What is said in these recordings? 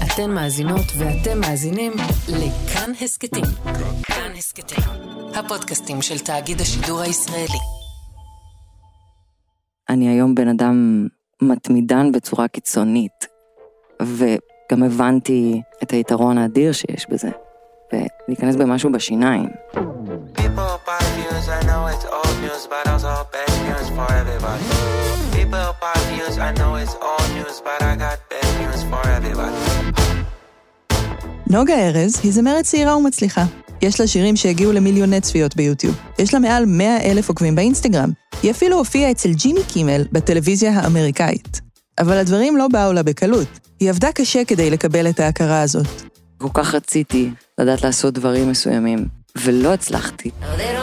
אתן מאזינות ואתם מאזינים לכאן הסקטים. כאן הסקטים, הפודקאסטים של תאגיד השידור הישראלי. אני היום בן אדם מתמידן בצורה קיצונית, וגם הבנתי את היתרון האדיר שיש בזה, ולהיכנס במשהו בשיניים. I know it's old news, but also bad news for everybody. People buy views, I know it's old news, but I got bad news for everybody. נוגה ארז היא זמרת צעירה ומצליחה. יש לה שירים שהגיעו למיליוני צפיות ביוטיוב. יש לה מעל 100,000 עוקבים באינסטגרם. היא אפילו הופיעה אצל ג'ימי קימל בטלוויזיה האמריקאית. אבל הדברים לא באו לה בקלות. היא עבדה קשה כדי לקבל את ההכרה הזאת. כל כך רציתי לדעת לעשות דברים מסוימים, ולא הצלחתי.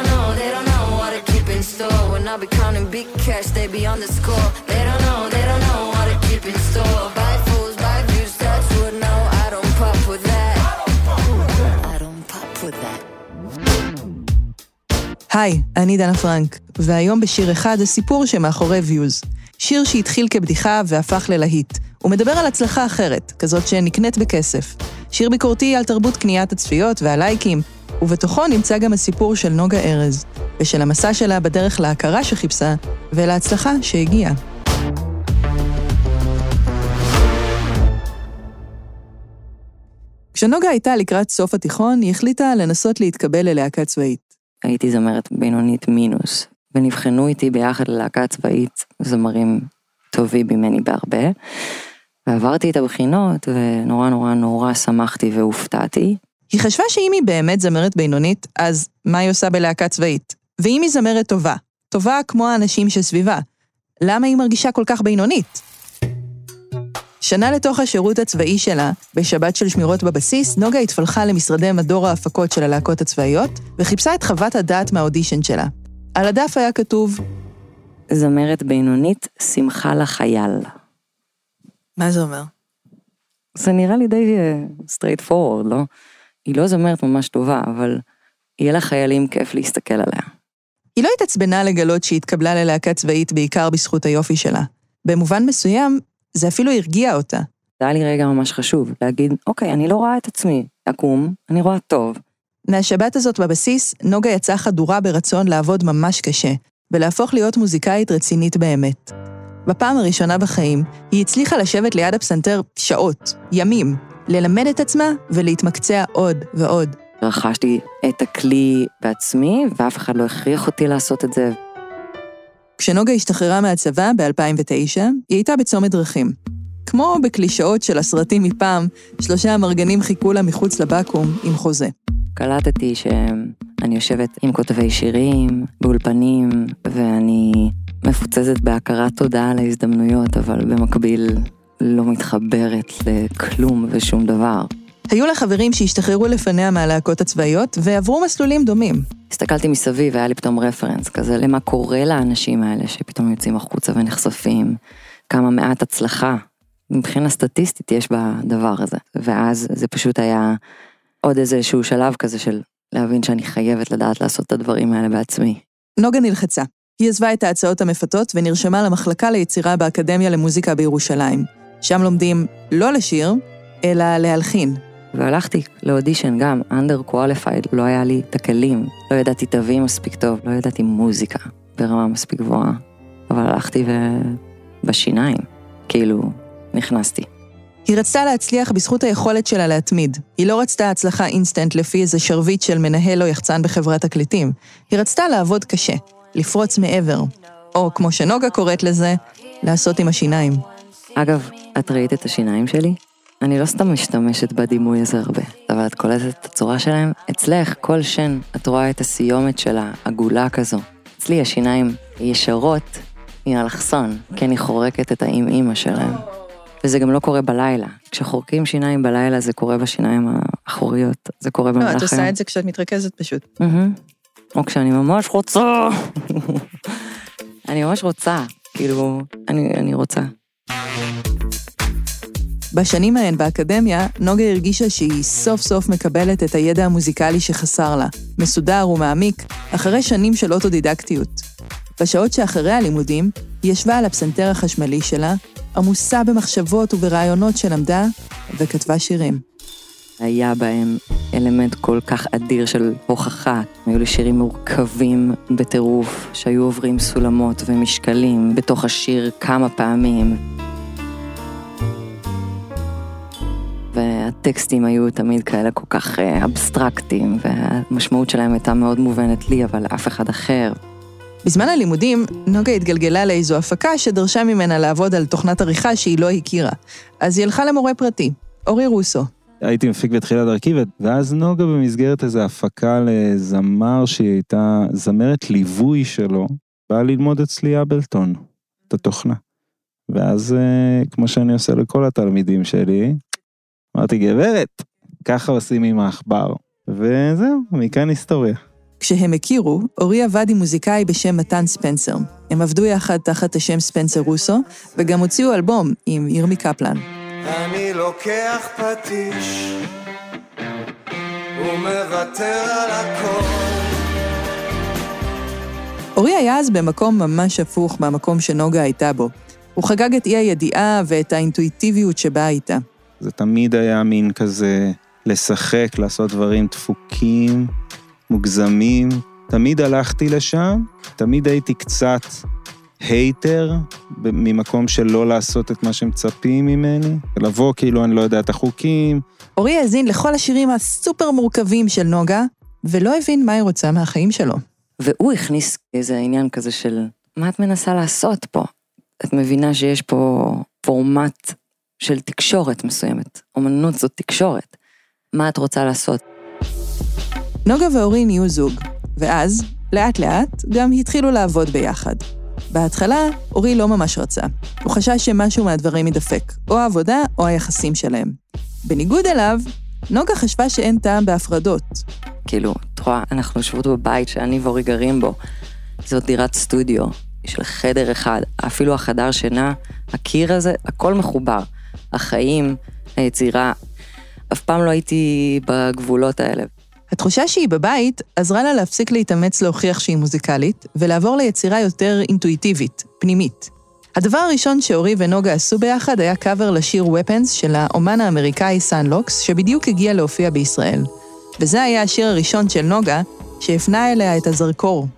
I'll be counting big cash, they be on the score. They don't know what to keep in store. Buy fools, buy views, that's what now. I don't pop with that. I don't pop with that. היי, אני דנה פרנק, והיום בשיר אחד הסיפור שמאחורי ויוז. שיר שהתחיל כבדיחה והפך ללהיט. הוא מדבר על הצלחה אחרת, כזאת שנקנית בכסף. שיר ביקורתי על תרבות קניית הצפיות והלייקים, ובתוכו נמצא גם הסיפור של נוגה ארז, ושל המסע שלה בדרך להכרה שחיפשה, ולהצלחה שהגיעה. כשנוגה הייתה לקראת סוף התיכון, היא החליטה לנסות להתקבל ללהקה צבאית. הייתי זמרת בינונית מינוס, ונבחנו איתי ביחד ללהקה צבאית, זמרים טובים ממני בהרבה, ועברתי את הבחינות, ונורא נורא נורא שמחתי והופתעתי. היא חשבה שאם היא באמת זמרת בינונית, אז מה היא עושה בלהקה צבאית? ואם היא זמרת טובה, טובה כמו האנשים שסביבה, למה היא מרגישה כל כך בינונית? שנה לתוך השירות הצבאי שלה, בשבת של שמירות בבסיס, נוגה התפלחה למשרדי מדור ההפקות של הלהקות הצבאיות, וחיפשה את חוות הדעת מהאודישן שלה. על הדף היה כתוב, זמרת בינונית, שמחה לחייל. מה זה אומר? זה נראה לי די straight forward, לא? היא לא זמרת ממש טובה, אבל יהיה לה חיילים כיף להסתכל עליה. היא לא התעצבנה לגלות שהיא התקבלה ללהקה צבאית בעיקר בזכות היופי שלה. במובן מסוים, זה אפילו הרגיע אותה. זה היה לי רגע ממש חשוב, להגיד, אוקיי, אני לא רואה את עצמי, אקום, אני רואה טוב. מהשבת הזאת בבסיס, נוגה יצאה חדורה ברצון לעבוד ממש קשה, ולהפוך להיות מוזיקאית רצינית באמת. בפעם הראשונה בחיים, היא הצליחה לשבת ליד הפסנתר שעות, ימים, ללמד את עצמה ולהתמקצע עוד ועוד. רכשתי את הכלי בעצמי, ואף אחד לא הכריח אותי לעשות את זה. כשנוגה השתחררה מהצבא ב-2009, היא הייתה בצומת דרכים. כמו בקלישאות של הסרטים מפעם, 3 המרגנים חיכו לה מחוץ לבקו"ם עם חוזה. קלטתי שאני יושבת עם כותבי שירים, באולפנים, ואני מפוצצת בהכרת תודה על ההזדמנויות, אבל במקביל לא מתחברת לכלום ושום דבר. היו לה חברים שהשתחררו לפניה מהלהקות הצבאיות, ועברו מסלולים דומים. הסתכלתי מסביב, והיה לי פתאום רפרנס כזה, למה קורה לאנשים האלה שפתאום יוצאים החוצה ונחשפים, כמה מעט הצלחה. מבחינה סטטיסטית יש בדבר הזה. ואז זה פשוט היה עוד איזשהו שלב כזה של להבין שאני חייבת לדעת לעשות את הדברים האלה בעצמי. נוגה נלחצה. היא עזבה את ההצעות המפתות ונרשמה למחלקה ליצירה באקדמיה למוזיקה בירושלים. שם לומדים לא לשיר, אלא להלחין. והלכתי לאודישן גם, under qualified, לא היה לי את הכלים, לא ידעתי תווים מספיק טוב, לא ידעתי מוזיקה ברמה מספיק גבוהה, אבל הלכתי בשיניים, כאילו נכנסתי. היא רצתה להצליח בזכות היכולת שלה להתמיד. היא לא רצתה הצלחה אינסטנט לפי איזה שרביט של מנהל או יחצן בחברת תקליטים. היא רצתה לעבוד קשה, לפרוץ מעבר, או כמו שנוגה קוראת לזה, לעשות עם השיניים. אגב, את ראית את השיניים שלי? אני לא סתם משתמשת בדימוי הזה הרבה, אבל את קולטת את הצורה שלהם. אצלך, כל שן, את רואה את הסיומת שלה, עגולה כזו. אצלי השיניים ישרות עם אלכסון, כי אני חורקת את האמא שלהם. וזה גם לא קורה בלילה. כשחורקים שיניים בלילה, זה קורה בשיניים האחוריות. זה קורה במהלך היום. לא, את עושה את זה כשאת מתרכזת פשוט. או כשאני ממש רוצה. אני ממש רוצה. כאילו, אני רוצה. בשנים ההן באקדמיה, נוגה הרגישה שהיא סוף סוף מקבלת את הידע המוזיקלי שחסר לה, מסודר ומעמיק, אחרי שנים של אוטודידקטיות. בשעות שאחרי הלימודים, היא ישבה על הפסנתר החשמלי שלה, עמוסה במחשבות וברעיונות שלמדה, וכתבה שירים. היה בהם אלמנט כל כך אדיר של הוכחה. היו לי שירים מורכבים בטירוף, שהיו עוברים סולמות ומשקלים בתוך השיר כמה פעמים. והטקסטים היו תמיד כאלה כל כך אבסטרקטיים, והמשמעות שלהם הייתה מאוד מובנת לי, אבל לאף אחד אחר. בזמן הלימודים, נוגה התגלגלה לאיזו הפקה שדרשה ממנה לעבוד על תוכנת עריכה שהיא לא הכירה. אז היא הלכה למורה פרטי, אורי רוסו. הייתי מפיק בתחילת דרכי, ואז נוגה במסגרת איזו הפקה לזמר שהיא הייתה זמרת ליווי שלו, באה ללמוד אצלי אבלטון, את התוכנה. ואז, כמו שאני עושה לכל התלמידים שלי, אמרתי, גברת, ככה עושים עם העכבר. וזהו, מכאן היסטוריה. כשהם הכירו, אורי עבד עם מוזיקאי בשם מתן ספנסר. הם עבדו יחד תחת השם ספנסר רוסו, וגם הוציאו אלבום עם ירמי קפלן. אני לוקח פטיש ומוותר על הכל. אורי היה אז במקום ממש הפוך מהמקום שנוגה הייתה בו. הוא חגג את אי הידיעה ואת האינטואיטיביות שבה הייתה. זה תמיד היה מין כזה לשחק, לעשות דברים דפוקים, מוגזמים. תמיד הלכתי לשם, תמיד הייתי קצת הייטר, ממקום של לא לעשות את מה שמצפים ממני, לבוא כאילו אני לא יודע את החוקים. אורי האזין לכל השירים הסופר מורכבים של נוגה, ולא הבין מה היא רוצה מהחיים שלו. והוא הכניס איזה עניין כזה של, מה את מנסה לעשות פה? את מבינה שיש פה פורמט של תקשורת מסוימת. אומנות זאת תקשורת. מה את רוצה לעשות? נוגה ואורי נהיו זוג, ואז, לאט לאט, גם התחילו לעבוד ביחד. בהתחלה, אורי לא ממש רצה. הוא חשש שמשהו מהדברים ידפק, או העבודה או היחסים שלהם. בניגוד אליו, נוגה חשבה שאין טעם בהפרדות. כאילו, תרואה, אנחנו יושבות בבית שאני ואורי גרים בו. זאת דירת סטודיו, של חדר אחד, אפילו החדר שינה, הקיר הזה, הכל מחובר. החיים, היצירה, אף פעם לא הייתי בגבולות האלה. התחושה שהיא בבית עזרה לה להפסיק להתאמץ להוכיח שהיא מוזיקלית, ולעבור ליצירה יותר אינטואיטיבית, פנימית. הדבר הראשון שאורי ונוגה עשו ביחד היה קאבר לשיר Weapons של האומן האמריקאי סאן לוקס, שבדיוק הגיע להופיע בישראל. וזה היה השיר הראשון של נוגה, שהפנה אליה את הזרקור.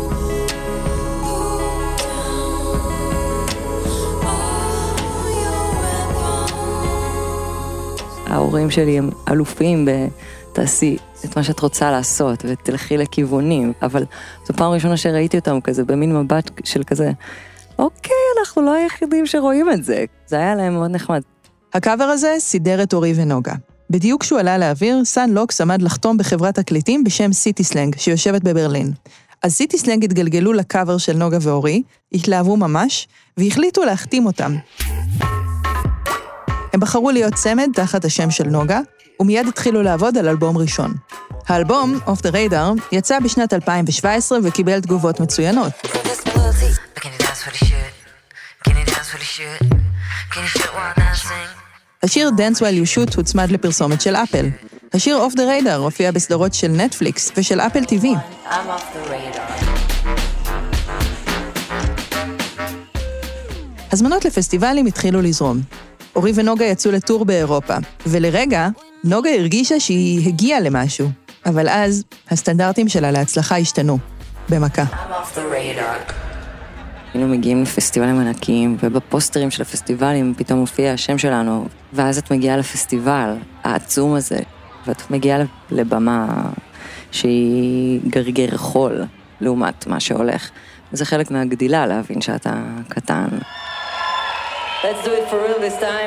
ההורים שלי הם אלופים תעשי את מה שאת רוצה לעשות, ותלכי לכיוונים, אבל זו פעם ראשונה שראיתי אותם כזה, במין מבט של כזה, אוקיי, אנחנו לא היחידים שרואים את זה. זה היה להם מאוד נחמד. הקאבר הזה סידר את אורי ונוגה. בדיוק כשהוא עלה לאוויר, סאן לוקס עמד לחתום בחברת תקליטים בשם סיטי סלנג, שיושבת בברלין. אז סיטי סלנג התגלגלו לקאבר של נוגה ואורי, התלהבו ממש, והחליטו להחתים אותם. הם בחרו להיות צמד תחת השם של נוגה, ומיד התחילו לעבוד על אלבום ראשון. האלבום, Off the Radar, יצא בשנת 2017 וקיבל תגובות מצוינות. השיר Dance While You Shoot הוצמד לפרסומת של אפל. השיר Off the Radar הופיע בסדרות של נטפליקס ושל אפל TV. הזמנות לפסטיבלים התחילו לזרום. אורי ונוגה יצאו לטור באירופה, ולרגע, נוגה הרגישה שהיא הגיעה למשהו. אבל אז, הסטנדרטים שלה להצלחה השתנו, במכה. היינו מגיעים לפסטיבלים ענקיים, ובפוסטרים של הפסטיבלים פתאום מופיע השם שלנו, ואז את מגיעה לפסטיבל העצום הזה, ואת מגיעה לבמה שהיא גרגר חול, לעומת מה שהולך. וזה חלק מהגדילה להבין שאתה קטן. Let's do it for real this time.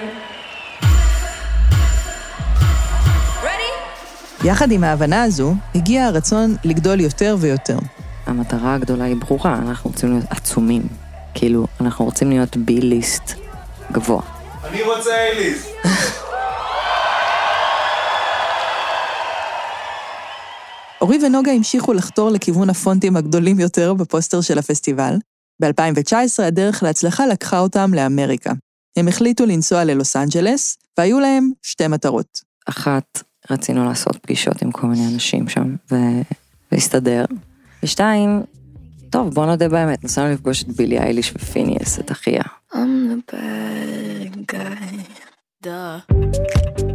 Ready? יחד עם ההבנה הזו, הגיע הרצון לגדול יותר ויותר. המטרה הגדולה היא ברורה, אנחנו רוצים להיות עצומים. כאילו, אנחנו רוצים להיות בי-ליסט גבוה. אני רוצה A-ליסט. אורי ונוגה המשיכו לחתור לכיוון הפונטים הגדולים יותר בפוסטר של הפסטיבל. ב-2019 הדרך להצלחה לקחה אותם לאמריקה. הם החליטו לנסוע ללוס אנג'לס, והיו להם שתי מטרות. אחת, רצינו לעשות פגישות עם כל מיני אנשים שם, והסתדר. ושתיים, טוב, בוא נודה באמת, נסענו לפגוש את בילי אייליש ופיניאס, את אחיה. I'm the bad guy. Duh.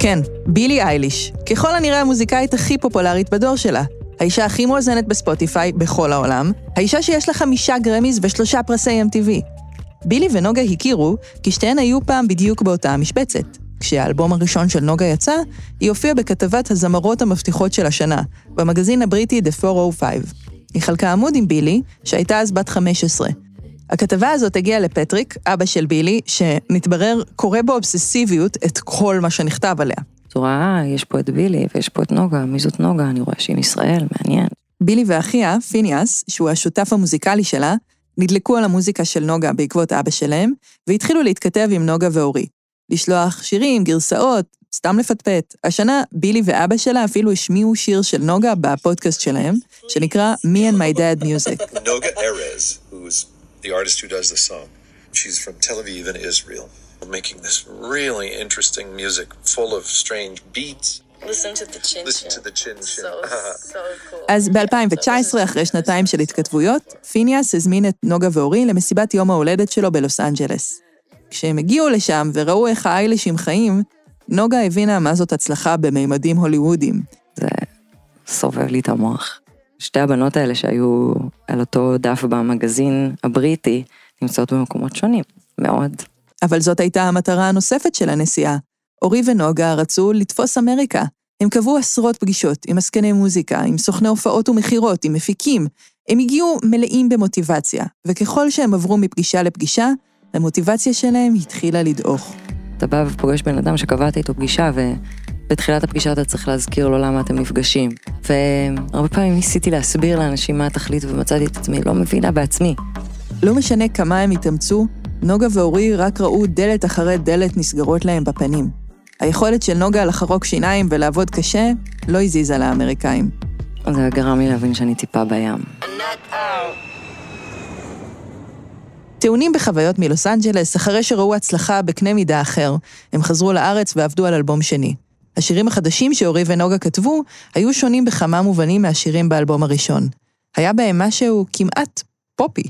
כן, בילי אייליש, ככל הנראה המוזיקאית הכי פופולרית בדור שלה. האישה הכי מואזנת בספוטיפיי בכל העולם, האישה שיש לה 5 גרמיז ו3 פרסי MTV. בילי ונוגה הכירו כי שתיהן היו פעם בדיוק באותה המשבצת. כשהאלבום הראשון של נוגה יצא, היא הופיעה בכתבת הזמרות המבטיחות של השנה, במגזין הבריטי The 405. היא חלקה עמוד עם בילי, שהייתה אז בת 15. הכתבה הזאת הגיעה לפטריק, אבא של בילי, שמתברר קורא באובססיביות את כל מה שנכתב עליה. צורה, יש פה את בילי ויש פה את נוגה, מי זאת נוגה? אני רואה שהיא מישראל, מעניין. בילי ואחיה, פיניאס, שהוא השותף המוזיקלי שלה, נדלקו על המוזיקה של נוגה בעקבות אבא שלהם, והתחילו להתכתב עם נוגה ואורי. לשלוח שירים, גרסאות, סתם לפטפט. השנה בילי ואבא שלה אפילו השמיעו שיר של נוגה בפודקאסט שלהם, שנקרא Me and My Dad Music. Noga Erez, who's the artist who does the song. She's from Tel Aviv in Israel, making this really interesting music full of strange beats. Listen to the chin. Listen to the chin. So cool. אז ב-2019, אחרי שנתיים של התכתבויות, פיניאס הזמין את נוגה ואורי למסיבת יום ההולדת שלו בלוס אנג'לס. כשהם הגיעו לשם וראו איך האיילישים חיים, נוגה הבינה מה זאת הצלחה בממדים הוליוודיים. זה סובב לי את המוח. שתי הבנות האלה שהיו על אותו דף במגזין הבריטי, נמצאות במקומות שונים, מאוד. אבל זאת הייתה המטרה הנוספת של הנסיעה. אורי ונוגה רצו לתפוס אמריקה. הם קבעו עשרות פגישות עם עסקני מוזיקה, עם סוכני הופעות ומחירות, עם מפיקים. הם הגיעו מלאים במוטיבציה, וככל שהם עברו מפגישה לפגישה, המוטיבציה שלהם התחילה לדעוך. אתה בא ופוגש בן אדם שקבעת איתו פגישה, ובתחילת הפגישה אתה צריך להזכיר לו למה אתם נפגשים. והרבה פעמים ניסיתי להסביר לאנשים מה התכלית, ומצאתי את עצמי, לא מבינה בעצמי. לא משנה כמה הם התאמצו, נוגה ואורי רק ראו דלת אחרי דלת נסגרות להם בפנים. היכולת של נוגה לחרוק שיניים ולעבוד קשה לא הזיזה לאמריקאים. זה גרם לי להבין שאני טיפה בים. טעונים בחוויות מלוס אנג'לס, אחרי שראו הצלחה בקנה מידה אחר, הם חזרו לארץ ועבדו על אלבום שני. השירים החדשים שאורי ונוגה כתבו, היו שונים בכמה מובנים מהשירים באלבום הראשון. היה בהם משהו כמעט פופי.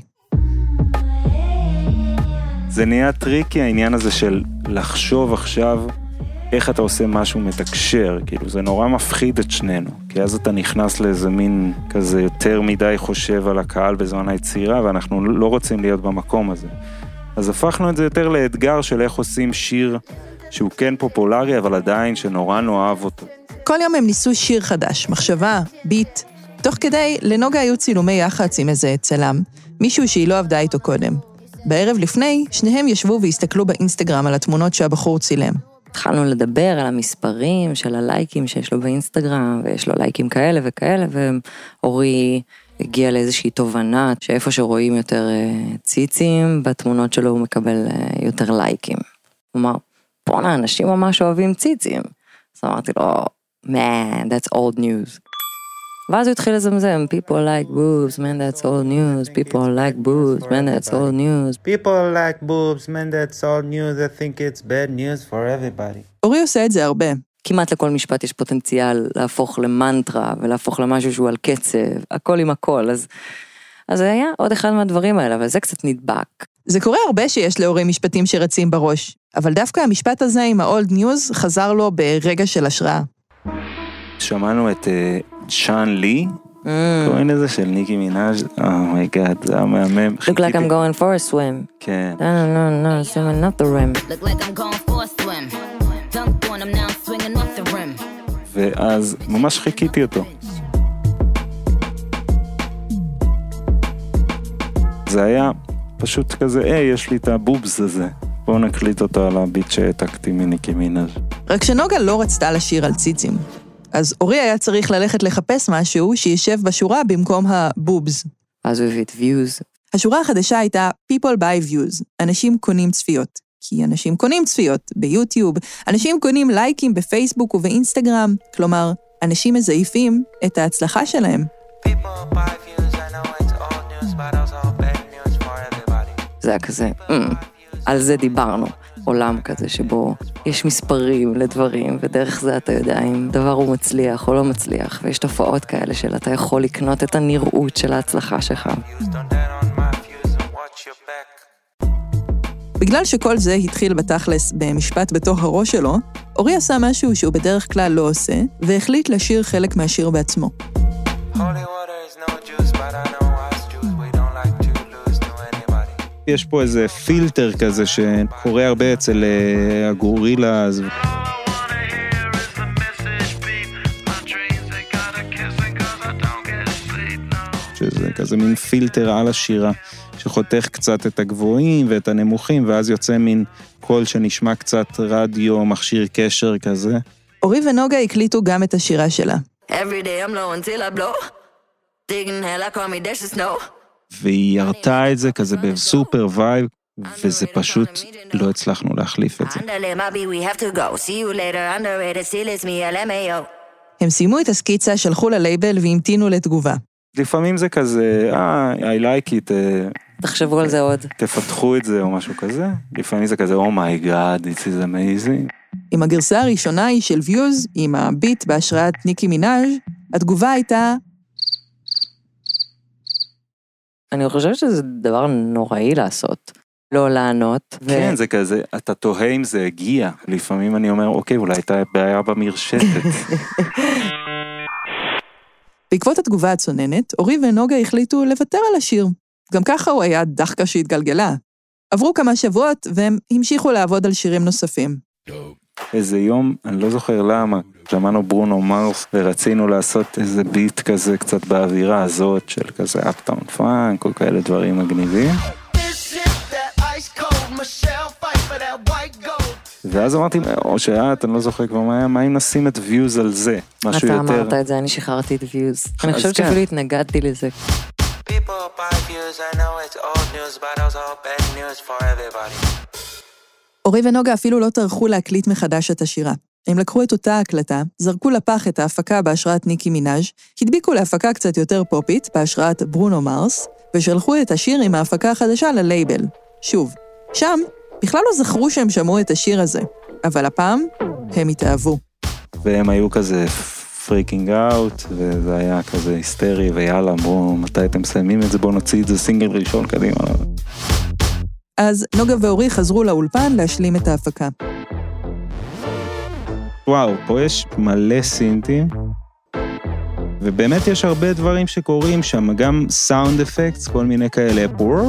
זה נהיה טריקי העניין הזה של לחשוב עכשיו איך אתה עושה משהו מתקשר, כאילו זה נורא מפחיד את שנינו, כי אז אתה נכנס לאיזה מין כזה יותר מדי חושב על הקהל בזמן היצירה, ואנחנו לא רוצים להיות במקום הזה. אז הפכנו את זה יותר לאתגר של איך עושים שיר שהוא כן פופולרי, אבל עדיין שנורא נאהב אותו. כל יום הם ניסו שיר חדש, מחשבה, ביט. תוך כדי, לנוגה היו צילומי יח"צ עם איזה צלם, מישהו שהיא לא עבדה איתו קודם. בערב לפני, שניהם ישבו והסתכלו באינסטגרם על התמונות שהבחור צילם. התחלנו לדבר על המספרים של הלייקים שיש לו באינסטגרם, ויש לו לייקים כאלה וכאלה, ואורי הגיע לאיזושהי תובנה, שאיפה שרואים יותר ציצים, בתמונות שלו הוא מקבל יותר לייקים. הוא אמר, בואנה, אנשים ממש אוהבים ציצים. אז אמרתי לו, man, that's old news. ואז הוא התחיל לזמזם, people like boobs, man, that's old news, people like boobs, man, that's old news. People like boobs, man, that's old news, I think it's bad news for everybody. אורי עושה את זה הרבה. כמעט לכל משפט יש פוטנציאל להפוך למנטרה, ולהפוך למשהו שהוא על קצב, הכל עם הכל, אז זה היה עוד אחד מהדברים האלה, אבל זה קצת נדבק. זה קורה הרבה שיש לאורי משפטים שרצים בראש, אבל דווקא המשפט הזה עם ה-old news חזר לו ברגע של השראה. שמענו את שאן לי, קוראים לזה של ניקי מינאז' אומייגאד, זה המהמם. Look like I'm going for a swim. כן. No, swimming up the rim. Look like I'm going for a swim. Dunked on him now, swinging off the rim. ואז ממש חיכיתי אותו. זה היה פשוט כזה, יש לי את הבובס הזה. בואו נקליט אותו על הביט שהעתקתי מניקי מינאז'. רק שנוגה לא רצתה לשיר על ציצים. אז אורי היה צריך ללכת לחפש משהו שישב בשורה במקום הבובס. אז הוא הביא את views. השורה החדשה הייתה People buy views, אנשים קונים צפיות. כי אנשים קונים צפיות ביוטיוב, אנשים קונים לייקים בפייסבוק ובאינסטגרם, כלומר, אנשים מזייפים את ההצלחה שלהם. זה היה כזה, על זה דיברנו. עולם כזה שבו יש מספרים לדברים, ודרך זה אתה יודע אם דבר הוא מצליח או לא מצליח, ויש תופעות כאלה של אתה יכול לקנות את הנראות של ההצלחה שלך. בגלל שכל זה התחיל בתכלס במשפט בתוך הראש שלו, אורי עשה משהו שהוא בדרך כלל לא עושה, והחליט לשיר חלק מהשיר בעצמו. יש פה איזה פילטר כזה שקורה הרבה אצל הגורילה. שזה כזה מין פילטר על השירה, שחותך קצת את הגבוהים ואת הנמוכים, ואז יוצא מין קול שנשמע קצת רדיו, מכשיר קשר כזה. אורי ונוגה הקליטו גם את השירה שלה. והיא ירתה את זה כזה בסופר וייב, וזה פשוט לא הצלחנו להחליף את זה. הם סיימו את הסקיצה, שלחו ללייבל והמתינו לתגובה. לפעמים זה כזה, I like it. תחשבו על זה עוד. תפתחו את זה או משהו כזה. לפעמים זה כזה, oh my god, this is amazing. עם הגרסה הראשונה היא של Views, עם הביט בהשראת ניקי מינאז', התגובה הייתה... אני חושבת שזה דבר נוראי לעשות. לא לענות. כן, זה כזה, אתה תוהה אם זה הגיע. לפעמים אני אומר, אוקיי, אולי הייתה בעיה במרשתת. בעקבות התגובה הצוננת, אורי ונוגה החליטו לוותר על השיר. גם ככה הוא היה דחקה שהתגלגלה. עברו כמה שבועות והם המשיכו לעבוד על שירים נוספים. איזה יום, אני לא זוכר למה, שמענו ברונו מרס ורצינו לעשות איזה ביט כזה קצת באווירה הזאת של כזה אפטאון פאנק, או כאלה דברים מגניבים. ואז אמרתי, או שאת, אני לא זוכר כבר מה היה, מה אם נשים את Views על זה? משהו יותר... אתה אמרת את זה, אני שחררתי את Views. אני חושבת שאפילו התנגדתי לזה. אורי ונוגה אפילו לא טרחו להקליט מחדש את השירה. הם לקחו את אותה הקלטה, זרקו לפח את ההפקה בהשראת ניקי מינאז', הדביקו להפקה קצת יותר פופית בהשראת ברונו מרס, ושלחו את השיר עם ההפקה החדשה ללייבל. שוב, שם בכלל לא זכרו שהם שמעו את השיר הזה, אבל הפעם הם התאהבו. והם היו כזה פריקינג אאוט, וזה היה כזה היסטרי, ויאללה, בואו, מתי אתם מסיימים את זה, בואו נוציא את זה סינגל ראשון קדימה. אז נוגה ואורי חזרו לאולפן להשלים את ההפקה. וואו, פה יש מלא סינטים, ובאמת יש הרבה דברים שקורים שם, גם סאונד אפקטס, כל מיני כאלה,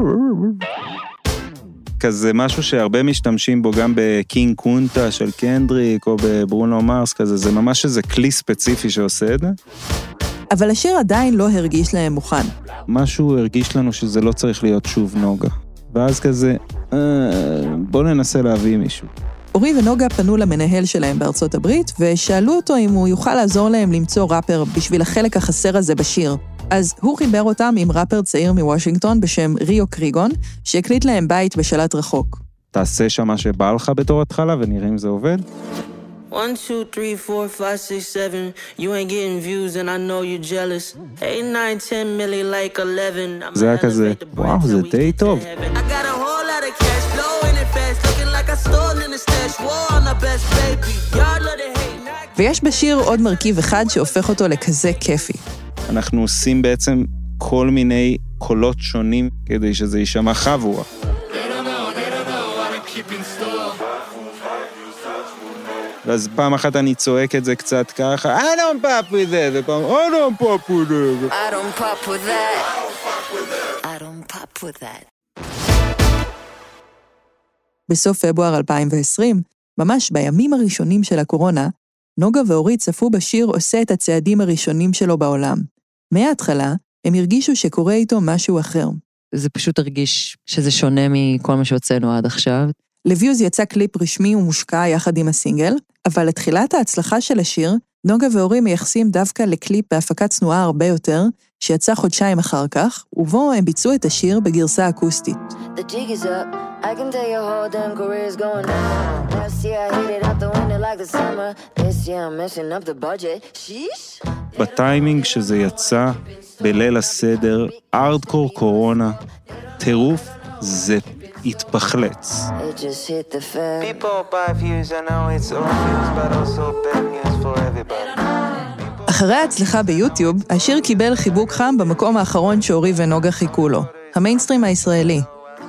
כזה משהו שהרבה משתמשים בו גם בקינג קונטה של קנדריק, או בברונו מרס כזה, זה ממש איזה כלי ספציפי שעושה את זה. אבל השיר עדיין לא הרגיש להם מוכן. משהו הרגיש לנו שזה לא צריך להיות שוב נוגה. ואז כזה, בוא ננסה להביא מישהו. אורי ונוגה פנו למנהל שלהם בארצות הברית, ושאלו אותו אם הוא יוכל לעזור להם למצוא ראפר בשביל החלק החסר הזה בשיר. אז הוא חיבר אותם עם ראפר צעיר מוושינגטון בשם ריו קריגון, שהקליט להם בית בשלט רחוק. תעשה שם מה שבא לך בתור התחלה ונראה אם זה עובד. 1, 2, 3, 4, 5, 6, 7 You ain't getting views and I know you're jealous 8, 9, 10 milli like 11 זה היה כזה, וואו, זה די טוב. I got a whole lot of cash flowing it fast Looking like I stole in the stash War on the best baby Y'all love to hate ויש בשיר עוד מרכיב אחד שהופך אותו לכזה כיפי. אנחנו עושים בעצם כל מיני קולות שונים כדי שזה יישמע חבורה. ואז פעם אחת אני צועק את זה קצת ככה, I don't pop with that, ופעם, I don't pop with that. I don't pop with that. I don't pop with that. בסוף פברואר 2020, ממש בימים הראשונים של הקורונה, נוגה ואורי צפו בשיר עושה את הצעדים הראשונים שלו בעולם. מההתחלה, הם הרגישו שקורה איתו משהו אחר. זה פשוט הרגיש שזה שונה מכל מה שהוצאנו עד עכשיו. לוויוז יצא קליפ רשמי ומושקע יחד עם הסינגל, אבל לתחילת ההצלחה של השיר, נוגה ואורי מייחסים דווקא לקליפ בהפקת צנועה הרבה יותר, שיצא חודשיים אחר כך, ובו הם ביצעו את השיר בגרסה אקוסטית. The jig is up. I can tell your whole damn career's going down. Last year I hit it out the window like the summer. This year I'm messing up the budget. Sheesh. בטיימינג שזה יצא, בליל הסדר, ארדקור קורונה, טירוף, זה התפחלץ. It just hit the fan. People buy views, I know it's all views, but also bad news for everybody. אחרי ההצלחה ביוטיוב, השיר קיבל חיבוק חם במקום האחרון שאורי ונוגה חיכו לו, המיינסטרים הישראלי.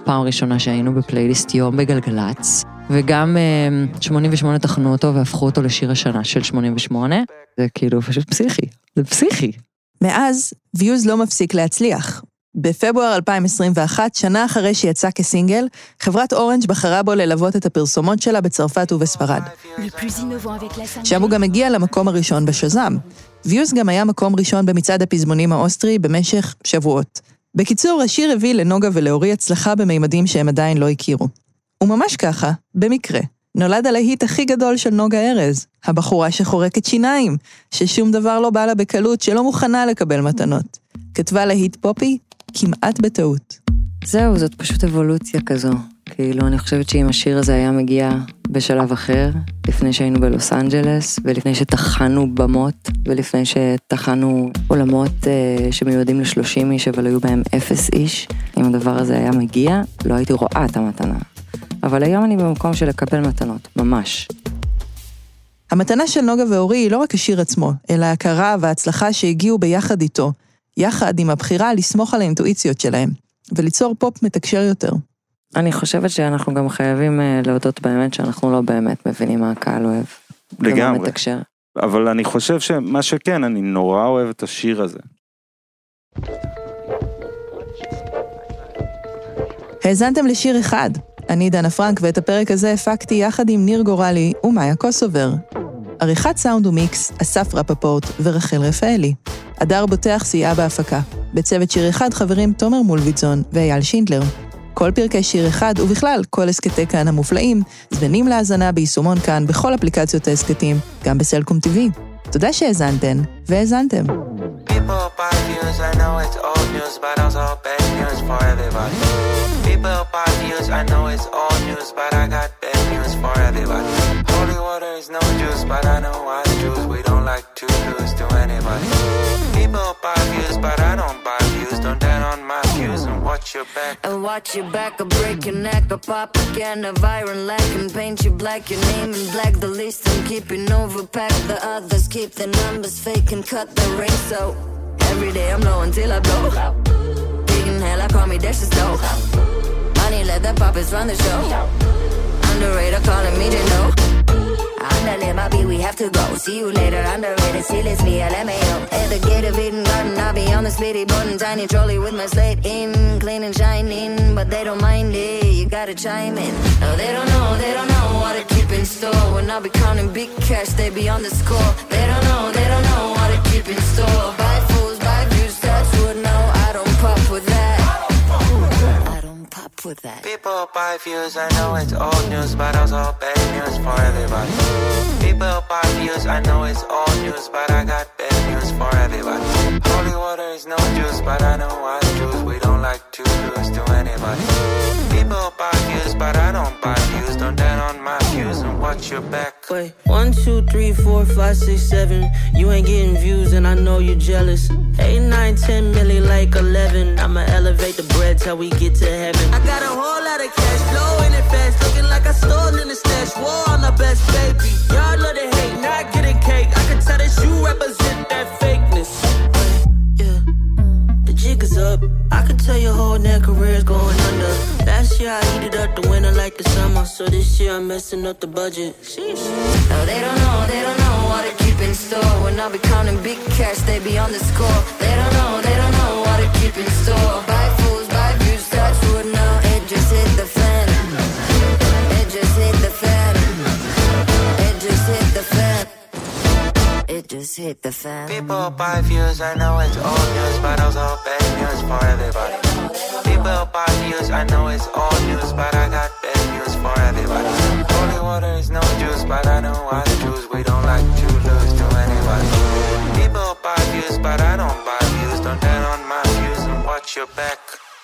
פעם ראשונה שהיינו בפלייליסט יום בגלגלץ, וגם 88 תחנו אותו והפכו אותו לשיר השנה של 88, זה כאילו פשוט פסיכי, זה פסיכי. מאז, ויוז לא מפסיק להצליח. בפברואר 2021, שנה אחרי שיצא כסינגל, חברת אורנג' בחרה בו ללוות את הפרסומות שלה בצרפת ובספרד. שם הוא גם הגיע למקום הראשון בשזם. ויוז גם היה מקום ראשון במצעד הפזמונים האוסטרי במשך שבועות. בקיצור, השיר הביא לנוגה ולאורי הצלחה בממדים שהם עדיין לא הכירו. וממש ככה, במקרה, נולד הלהיט הכי גדול של נוגה ארז, הבחורה שחורקת שיניים, ששום דבר לא בא לה בקלות, שלא מוכנה לקבל מתנות. כתבה להיט פופי, כמעט בטעות. זהו, זאת פשוט אבולוציה כזו. כאילו, אני חושבת שאם השיר הזה היה מגיע בשלב אחר, לפני שהיינו בלוס אנג'לס, ולפני שתחנו במות, ולפני שתחנו עולמות שמיועדים ל30 איש, אבל היו בהם 0 איש, אם הדבר הזה היה מגיע, לא הייתי רואה את המתנה. אבל היום אני במקום של לקבל מתנות, ממש. המתנה של נוגה ואורי היא לא רק השיר עצמו, אלא ההכרה וההצלחה שהגיעו ביחד איתו, יחד עם הבחירה לסמוך על האינטואיציות שלהם, וליצור פופ מתקשר יותר. אני חושבת שאנחנו גם חייבים להודות באמת שאנחנו לא באמת מבינים מה הקהל אוהב. לגמרי. מתקשר. אבל אני חושב שמה שכן, אני נורא אוהב את השיר הזה. האזנתם לשיר אחד. אני דנה פרנק, ואת הפרק הזה הפקתי יחד עם ניר גורלי ומאיה קוסובר. עריכת סאונד ומיקס, אסף רפפורט ורחל רפאלי. אדר בוטח סייעה בהפקה. בצוות שיר אחד חברים תומר מולביטזון ואייל שינדלר. כל פרקי שיר אחד ובכלל כל הסקטי כאן המופלאים זמינים להאזנה ביישומון כאן בכל אפליקציות ההסקטים, גם בסלקום TV. תודה שהאזנתן והאזנתם. People buy views, I know it's old news, but also bad news for everybody. People buy views, I know it's old news, but I got bad news for everybody. Holy water is no juice, but I know why Jews, we don't like to lose to anybody. People buy views, but I don't buy views, don't dare on my views and watch your back. And watch your back, I'll break your neck, I'll pop a can of iron lack and paint you black, your name in black, the least I'm keeping overpacked, the others keep the numbers fake and cut the ring, so every day I'm low until I blow. Big in hell, I call me Dash the Stove. Money, let the puppets run the show. Underrated, calling me to know. Underlay my beat, we have to go. See you later, underrated, see, let's be LMAO. At the gate of Eden Garden, I'll be on the splitty button. Tiny trolley with my slate in, clean and shining. But they don't mind it, you gotta chime in. No, they don't know what to keep in store. When I'll be counting big cash, they be on the score. They don't know what to keep in store. Buy fools, buy views, that's what, no, I don't pop with that. With that. People buy views, I know it's old news, but also bad news for everybody. People buy views, I know it's old news, but I got bad news for everybody. Holy water is no juice, but I know why Jews, we don't like to lose to anybody. People buy views, but I don't buy views, don't dare on my views and watch your back. Wait, 1, 2, 3, 4, 5, 6, 7. You ain't getting views and I know you're jealous. 8, 9, 10 million like 11. I'ma elevate the bread till we get to heaven. I got a whole lot of cash flowing it fast, looking like I stole in the stash. War on the best baby. Y'all love to hate, not getting cake. I can tell that you represent that fakeness. Yeah, the jig is up. I can tell your whole net career's going under. Last year I heated up the winter like the summer, so this year I'm messing up the budget. Sheesh. No, they don't know what to keep in store. When I'll be counting big cash, they be on the score. They don't know what to keep in store. Buy fools, buy views, touch wood, no, it just hit the fan. It just hit the fan. It just hit the fan. It just hit the fan. People buy views, I know it's old news, but also bad news for everybody. People buy views, I know it's old news, but I got bad news for everybody. Holy water is no juice, but I know why Jews, we don't like to lose to anybody. People buy views, but I don't buy views, don't dare on my views and watch your back.